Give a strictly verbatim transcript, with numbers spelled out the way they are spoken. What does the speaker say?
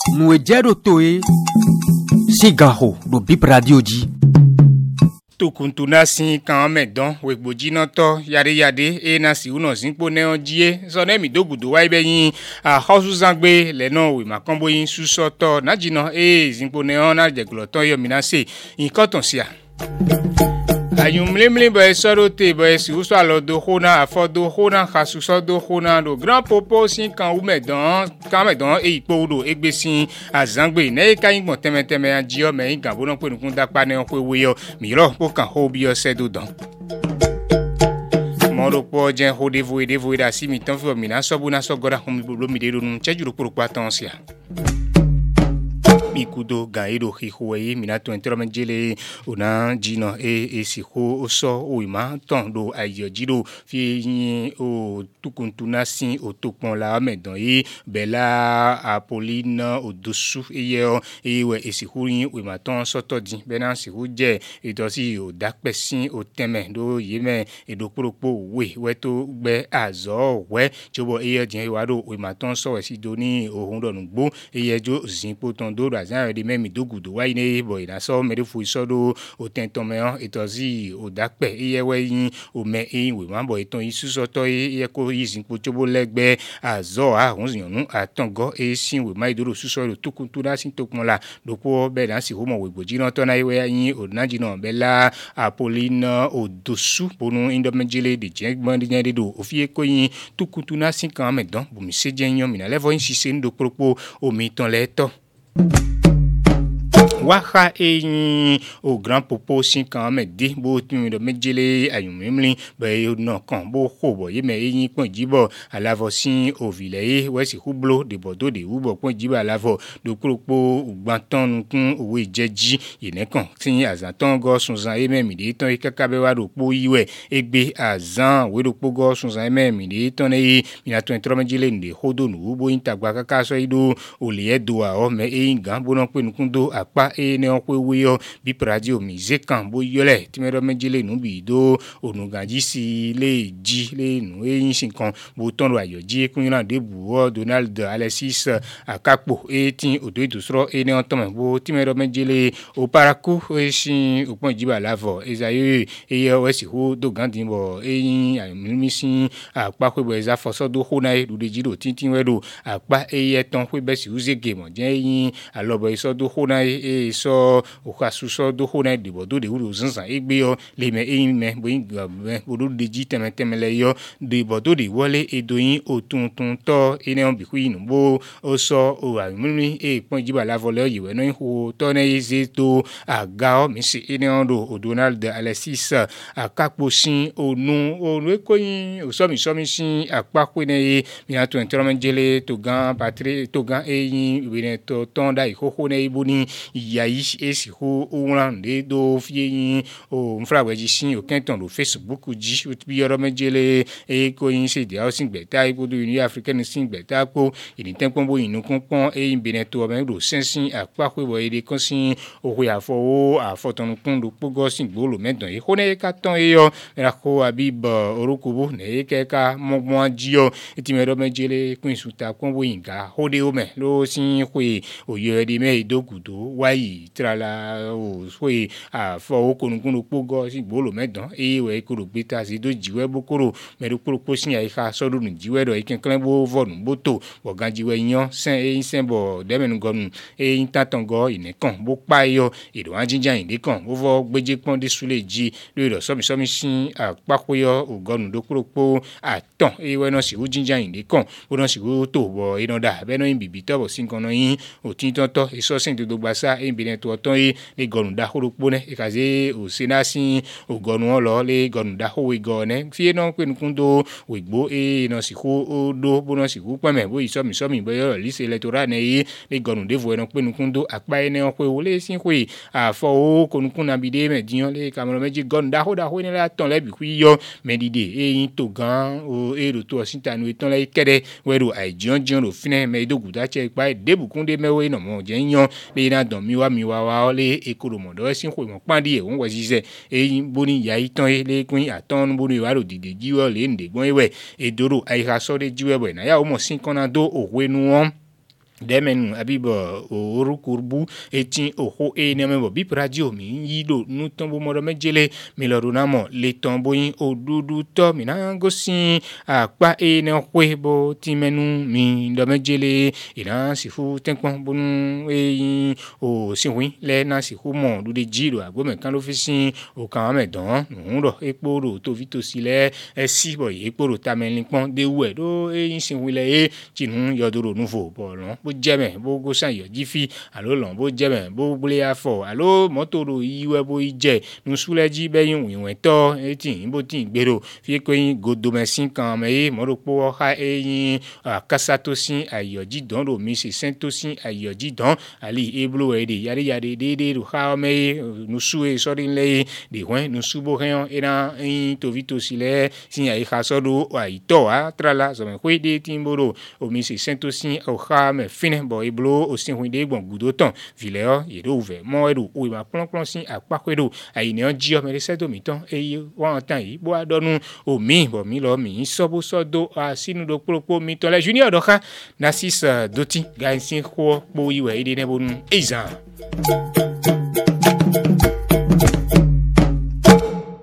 Nuejero toe Sigaho do Bip Radio di Tukuntuna sin kan medon wegboji na to yade yade e na si uno zinpo ne onjie so na mi dogudo wa ibe yin a hosu zangbe le no we makombo yin suso to na jino e zinpo ne on na jeglo to yo minase nkan ton sia ayum lemle ba sorote ba si uso alo do hona afodo hona khasuso do hona do grand popo sin kan u medon kan medon e ipo do egbesin azangbe ne ka yin gbon teme teme anji o me yin gan bo no pe nukun dapa ne on pe we yo miro po kan ho bi o se do dan moro po jen ho devo e devo da si mi tan fi o mi na so bu na so goda hum lo mi de do nu cheju pro pa tan sia Mikudo gairo hihuei minato entromengele una jino e e siho oso oima ton do ayojiro fi o tukuntuna sin o tokpon la medon yi bela Apolline odosu eyo ewe esihurin oima ton soto din bena sihu je itosi o dakpesin o teme do yeme edoporopo we weto gbe azo we jobo eyo din iwado oima ton so we si do ni ohun do nugbo eyejo zinpo ton do azan de memi dogudo wa ine boy na so me fu isodo o tenton me itozi o dakpe iyewe yin o me yin we ma boy ton isuso to iye ko yizin po chobo legbe azo a hunziyanu atongo e sin we ma idoro suso lo tukuntu da sin tokmon la dopo be dan si ho mo we gboji na to na iwe yin o naji na bela Apolline odosu bonu indomejele de jegbon de do ofie ko yin tukuntu na sin kan medon bu mi se jenyon mi na levo yin sise ndo propo o mi ton leto Waha e o grand popo sin kan me de bo tun do mejele ayumimli be no kan bo ko bo ye me yin pon jibo alavo sin o vile we si hublo de bodo de ubo pon jibo alavo do kropo ugbanton kun owe jeji yene kan tin azanton go sunzan e me mi de ton ikakabe wa do po iwe egbe azan we do po go sunzan e me mi de ton e mi na tun tro mejele nde hodo nu ubo intagba kaka so ido o le edo a o me e gan bo no pe nukundo apa e ne on pe wiyo bi radio mize kan bo yole ti me do mejele nu bi do onugaji si le ji le nu e yin sin kan bo ton ro ayoji kun ran de buwo Donald Alexis akapo e tin odo idusro e ne on ton bo ti me do mejele o paraku e sin opon jiba lavo ezaye e yo we si ho do gandin bo e yin ayimi sin apa pe bo eza foso do hona e do de jiro tintin we do apa e ye ton pe be si uze game je yin alobo iso do hona e so o kasuso do hona de bodo de uru zanzan egbe yo le me e me bo yin gbe bodo de ji teme teme le yo de bodo de wole edoyin otuntun to ene on bi ku yin bo o so o amuni e pon jiba la vole yiwe no ho to ne yeze to aga o mi si ene on do o Donald Alexis akapo sin onu onu ko yin o so mi so mi sin apapo ne mi ato entromengele to gan patri to gan e yin we ne to ton da ikoko ne ibuni yayi esi ho oran de do fie yin o mfrawe ji sin o kenton do Facebook ji o bi yoro mejele e ko yin se dia o sin gbeta ipo do Union African sin gbeta po ini tempon bo yin kun pon e yin beneto o me do sensin apa ko bo ede kan sin o ho afo o afoton kun do pogo sin gbolo medon e ho ne ka ton e yo ra ko abib orokubo ne ke ka mo mo ji yo ti me do mejele kun suta kon bo yin ga ho de o me lo sin hwe o yo de me idogudo wayi trala o swe a fo okunukun pogo si gbolo medon e we kuro beta si do jiwe bokoro me do kuro posin ya ika so do nu jiwe do ikin klen bo vonu boto bo gan jiwe yan sen e sen bo de menu gonu e intatongo inekan bo pa yo edo anjinjan inde kan bo vo gbeje pon de sule ji lo do so mi so mi sin apakoyo ogonu do kuro po aton e we no si ujinjan inde kan bo no si go to bo ino da be no yin bibi to bo sin kan no yin o tin tonto e so sin do gbasa e bi to ton yi le gonu da horopo ne ikaze o senasi o gonu olo le gonu da ho we gone fie no pe nkundo we gbo e no si ho o do bo no si hu peme bo iso mi so mi bo yo lise electoral ne yi le gonu de vo no pe nkundo apa ene o pe o le sin hwe afo o konukun na bide me diyan le kamero meji gonu da ho da ho ni la ton le bi ku yo medide e yin to gan o e ro to sin tanu ton le kede we ro ai jon jon ro fine me dogu da che pa debukun de mewe no mo je yan le na don mi wa mi wa wa le ekoro modo sin hwe mo pandi e won we sise e boni ya iton e le kun aton boni wa ro dide jiwo le nde gbon ewe edoro ai ha so de jiwe we na ya o mo sin kan na do owe nu won Demenu abibo orukurbu etin oho e nemebo bip radio mi yido nu tombo modo mejele mi lorunamo le tombo yin odudu to mi na gosi akpa e ne kwebo timenu mi do mejele ina sifu tenkpon bonu e o sinwi le na sifu mo du de jiro agbo kan lo fisin o kan me don nu ro epo ro to vito sile e si boy epo ro tamelin pon de we do e sinwi le e tinu yodoro nouveau bolon bo jeme bo go san yo jifi alo lon bo jeme bo bule afo alo moto ro iwe bo ije nu suleji be yin winwen to etin bo tin gbero fi ko yin godo mesin kan me mo ro po ha e yin akasato sin ayoji don ro mi se sento sin ayoji don ali eblo e de yare yare de de ro ha me nu su e so rin le de wen nu su bo hen era in to vito sile sin ai ha so do ai to a trala so me kwe de timboro o mi se sento sin o ha me fine bo eblo o sin hun de gbon gudo ton vileo ye do ve mo e do o ma plon plon sin apa kwe do ai ne ji o me se do mi ton e wa tan yi bo adonu o mi bo mi lo mi so bo so do a sinu do propo mi ton la junior do ha na sis doti ga sin ko po iwe ide ne bonu ezan